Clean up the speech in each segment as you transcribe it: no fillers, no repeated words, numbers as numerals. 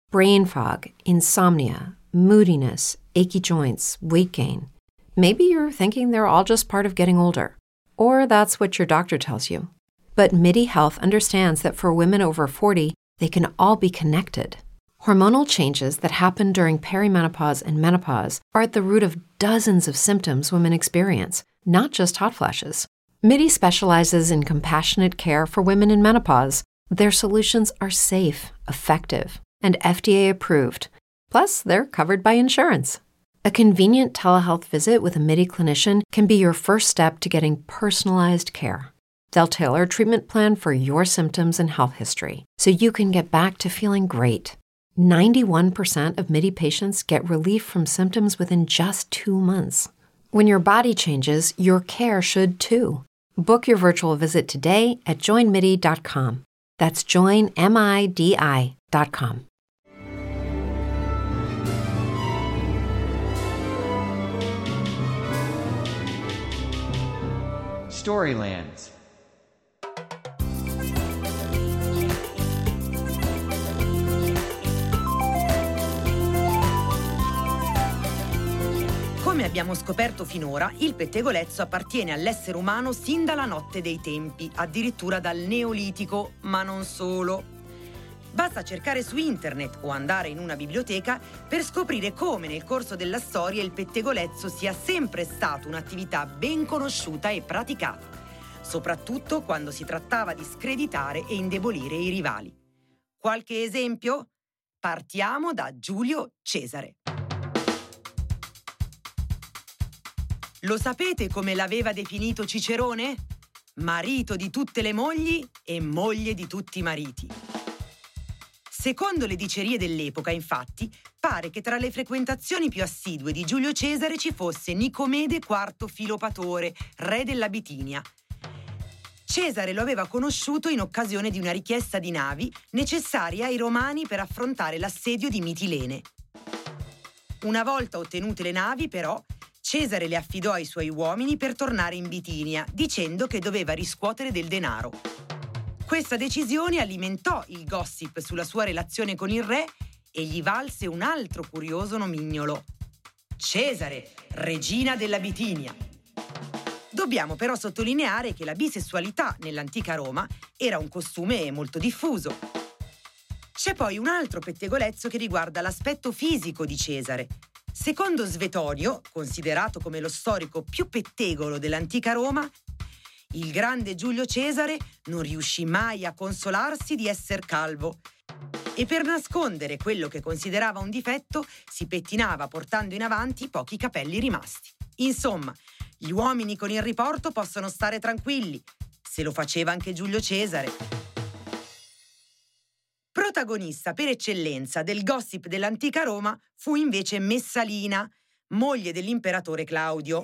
brain fog, insomnia, moodiness, achy joints, weight gain. Maybe you're thinking they're all just part of getting older, or that's what your doctor tells you. But MIDI Health understands that for women over 40, they can all be connected. Hormonal changes that happen during perimenopause and menopause are at the root of dozens of symptoms women experience, not just hot flashes. MIDI specializes in compassionate care for women in menopause. Their solutions are safe, effective, and FDA approved. Plus, they're covered by insurance. A convenient telehealth visit with a MIDI clinician can be your first step to getting personalized care. They'll tailor a treatment plan for your symptoms and health history, so you can get back to feeling great. 91% of MIDI patients get relief from symptoms within just 2 months. When your body changes, your care should too. Book your virtual visit today at joinmidi.com. That's joinmidi.com. Storylands. Come abbiamo scoperto finora, il pettegolezzo appartiene all'essere umano sin dalla notte dei tempi, addirittura dal Neolitico, ma non solo. Basta cercare su internet o andare in una biblioteca per scoprire come nel corso della storia il pettegolezzo sia sempre stato un'attività ben conosciuta e praticata, soprattutto quando si trattava di screditare e indebolire i rivali. Qualche esempio? Partiamo da Giulio Cesare. Lo sapete come l'aveva definito Cicerone? Marito di tutte le mogli e moglie di tutti i mariti. Secondo le dicerie dell'epoca, infatti, pare che tra le frequentazioni più assidue di Giulio Cesare ci fosse Nicomede IV Filopatore, re della Bitinia. Cesare lo aveva conosciuto in occasione di una richiesta di navi necessarie ai romani per affrontare l'assedio di Mitilene. Una volta ottenute le navi, però, Cesare le affidò ai suoi uomini per tornare in Bitinia, dicendo che doveva riscuotere del denaro. Questa decisione alimentò il gossip sulla sua relazione con il re e gli valse un altro curioso nomignolo: Cesare, regina della Bitinia. Dobbiamo però sottolineare che la bisessualità nell'antica Roma era un costume molto diffuso. C'è poi un altro pettegolezzo che riguarda l'aspetto fisico di Cesare. Secondo Svetonio, considerato come lo storico più pettegolo dell'antica Roma, il grande Giulio Cesare non riuscì mai a consolarsi di essere calvo e per nascondere quello che considerava un difetto si pettinava portando in avanti i pochi capelli rimasti. Insomma, gli uomini con il riporto possono stare tranquilli, se lo faceva anche Giulio Cesare. Protagonista per eccellenza del gossip dell'antica Roma fu invece Messalina, moglie dell'imperatore Claudio.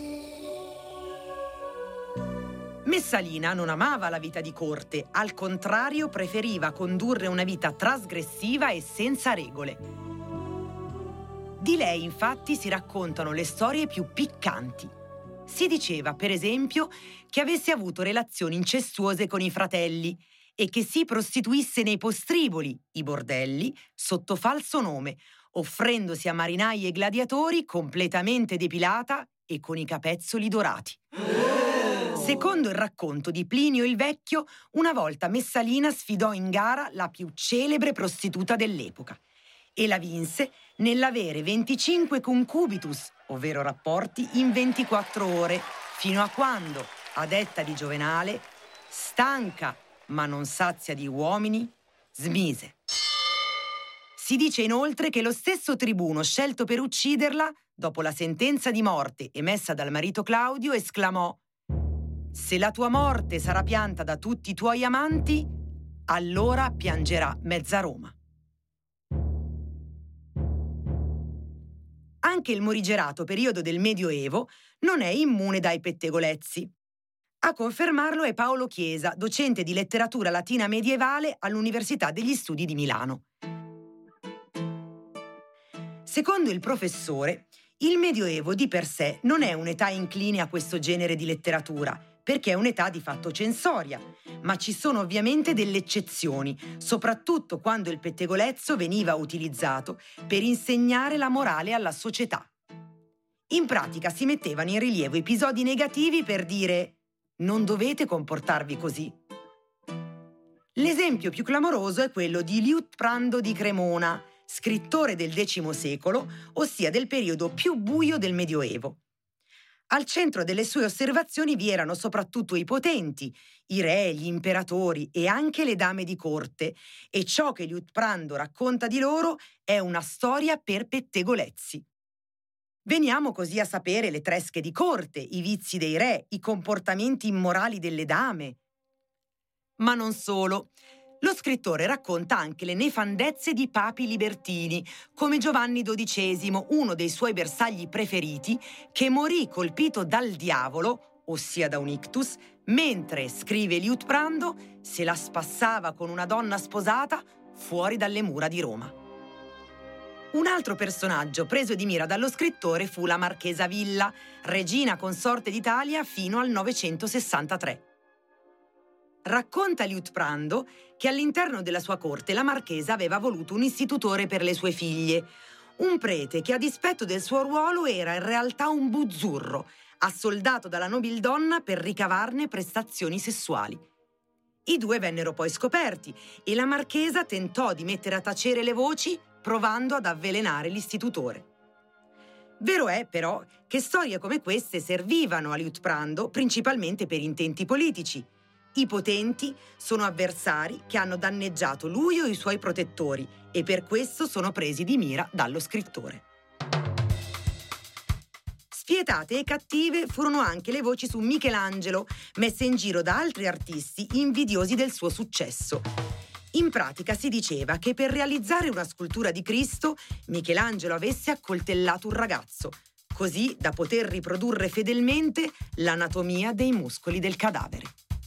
Messalina non amava la vita di corte, al contrario preferiva condurre una vita trasgressiva e senza regole. Di lei, infatti, si raccontano le storie più piccanti. Si diceva, per esempio, che avesse avuto relazioni incestuose con i fratelli e che si prostituisse nei postriboli, i bordelli, sotto falso nome, offrendosi a marinai e gladiatori completamente depilata e con i capezzoli dorati. Secondo il racconto di Plinio il Vecchio, una volta Messalina sfidò in gara la più celebre prostituta dell'epoca e la vinse nell'avere 25 concubitus, ovvero rapporti, in 24 ore, fino a quando, a detta di Giovenale, stanca ma non sazia di uomini, smise. Si dice inoltre che lo stesso tribuno scelto per ucciderla, dopo la sentenza di morte emessa dal marito Claudio, esclamò: «Se la tua morte sarà pianta da tutti i tuoi amanti, allora piangerà mezza Roma». Anche il morigerato periodo del Medioevo non è immune dai pettegolezzi. A confermarlo è Paolo Chiesa, docente di letteratura latina medievale all'Università degli Studi di Milano. Secondo il professore, il Medioevo di per sé non è un'età incline a questo genere di letteratura, perché è un'età di fatto censoria, ma ci sono ovviamente delle eccezioni, soprattutto quando il pettegolezzo veniva utilizzato per insegnare la morale alla società. In pratica si mettevano in rilievo episodi negativi per dire «non dovete comportarvi così». L'esempio più clamoroso è quello di Liutprando di Cremona, scrittore del X secolo, ossia del periodo più buio del Medioevo. Al centro delle sue osservazioni vi erano soprattutto i potenti, i re, gli imperatori e anche le dame di corte, e ciò che Liutprando racconta di loro è una storia per pettegolezzi. Veniamo così a sapere le tresche di corte, i vizi dei re, i comportamenti immorali delle dame. Ma non solo. Lo scrittore racconta anche le nefandezze di papi libertini, come Giovanni XII, uno dei suoi bersagli preferiti, che morì colpito dal diavolo, ossia da un ictus, mentre, scrive Liutprando, se la spassava con una donna sposata fuori dalle mura di Roma. Un altro personaggio preso di mira dallo scrittore fu la marchesa Villa, regina consorte d'Italia fino al 963. Racconta Liutprando che all'interno della sua corte la marchesa aveva voluto un istitutore per le sue figlie, un prete che a dispetto del suo ruolo era in realtà un buzzurro, assoldato dalla nobildonna per ricavarne prestazioni sessuali. I due vennero poi scoperti e la marchesa tentò di mettere a tacere le voci provando ad avvelenare l'istitutore. Vero è, però, che storie come queste servivano a Liutprando principalmente per intenti politici. I potenti sono avversari che hanno danneggiato lui o i suoi protettori e per questo sono presi di mira dallo scrittore. Spietate e cattive furono anche le voci su Michelangelo, messe in giro da altri artisti invidiosi del suo successo. In pratica si diceva che per realizzare una scultura di Cristo, Michelangelo avesse accoltellato un ragazzo, così da poter riprodurre fedelmente l'anatomia dei muscoli del cadavere.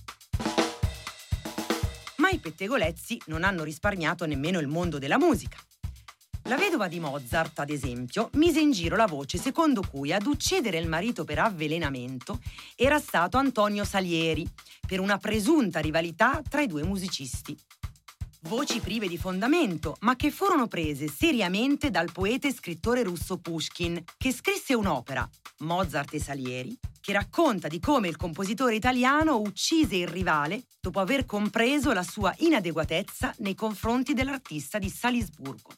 Ma i pettegolezzi non hanno risparmiato nemmeno il mondo della musica. La vedova di Mozart, ad esempio, mise in giro la voce secondo cui ad uccidere il marito per avvelenamento era stato Antonio Salieri, per una presunta rivalità tra i due musicisti. Voci prive di fondamento, ma che furono prese seriamente dal poeta e scrittore russo Pushkin, che scrisse un'opera, Mozart e Salieri, che racconta di come il compositore italiano uccise il rivale dopo aver compreso la sua inadeguatezza nei confronti dell'artista di Salisburgo.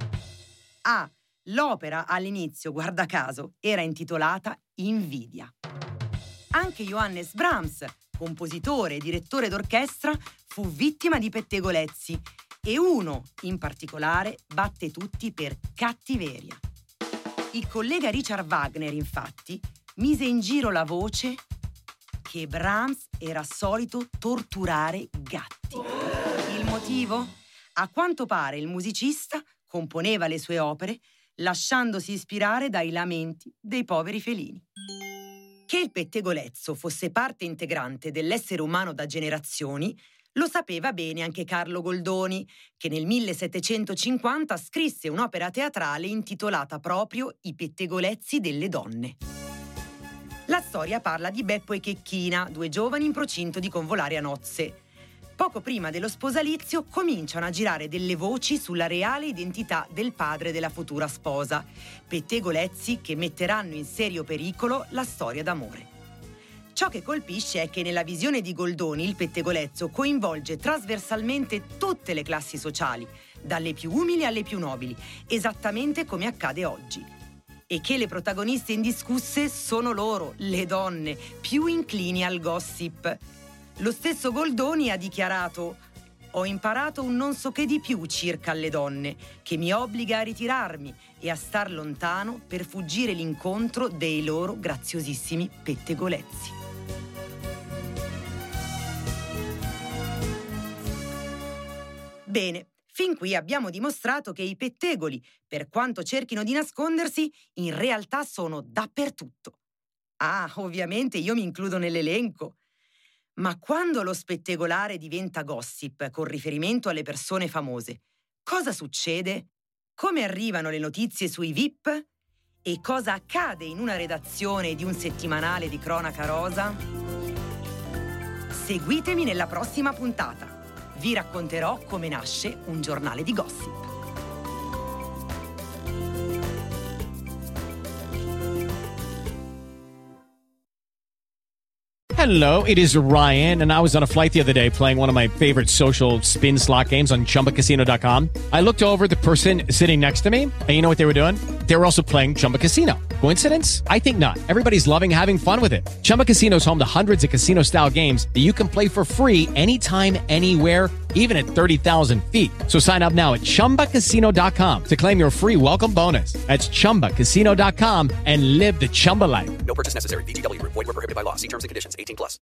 L'opera all'inizio, guarda caso, era intitolata Invidia. Anche Johannes Brahms, compositore e direttore d'orchestra, fu vittima di pettegolezzi e uno, in particolare, batte tutti per cattiveria. Il collega Richard Wagner, infatti, mise in giro la voce che Brahms era solito torturare gatti. Il motivo? A quanto pare il musicista componeva le sue opere lasciandosi ispirare dai lamenti dei poveri felini. Che il pettegolezzo fosse parte integrante dell'essere umano da generazioni lo sapeva bene anche Carlo Goldoni, che nel 1750 scrisse un'opera teatrale intitolata proprio I pettegolezzi delle donne. La storia parla di Beppo e Checchina, due giovani in procinto di convolare a nozze. Poco prima dello sposalizio cominciano a girare delle voci sulla reale identità del padre della futura sposa, pettegolezzi che metteranno in serio pericolo la storia d'amore. Ciò che colpisce è che nella visione di Goldoni il pettegolezzo coinvolge trasversalmente tutte le classi sociali, dalle più umili alle più nobili, esattamente come accade oggi. E che le protagoniste indiscusse sono loro, le donne, più inclini al gossip. Lo stesso Goldoni ha dichiarato: «Ho imparato un non so che di più circa alle donne, che mi obbliga a ritirarmi e a star lontano per fuggire l'incontro dei loro graziosissimi pettegolezzi». Bene, fin qui abbiamo dimostrato che i pettegoli, per quanto cerchino di nascondersi, in realtà sono dappertutto. Ovviamente io mi includo nell'elenco. Ma quando lo spettegolare diventa gossip con riferimento alle persone famose, cosa succede? Come arrivano le notizie sui VIP? E cosa accade in una redazione di un settimanale di cronaca rosa? Seguitemi nella prossima puntata. Vi racconterò come nasce un giornale di gossip. Hello, it is Ryan, and I was on a flight the other day playing one of my favorite social spin slot games on ChumbaCasino.com. I looked over at the person sitting next to me, and you know what they were doing? They were also playing Chumba Casino. Coincidence? I think not. Everybody's loving having fun with it. Chumba Casino is home to hundreds of casino-style games that you can play for free anytime, anywhere, even at 30,000 feet. So sign up now at ChumbaCasino.com to claim your free welcome bonus. That's ChumbaCasino.com and live the Chumba life. No purchase necessary. VGW Group. Void where prohibited by law. See terms and conditions. 18+.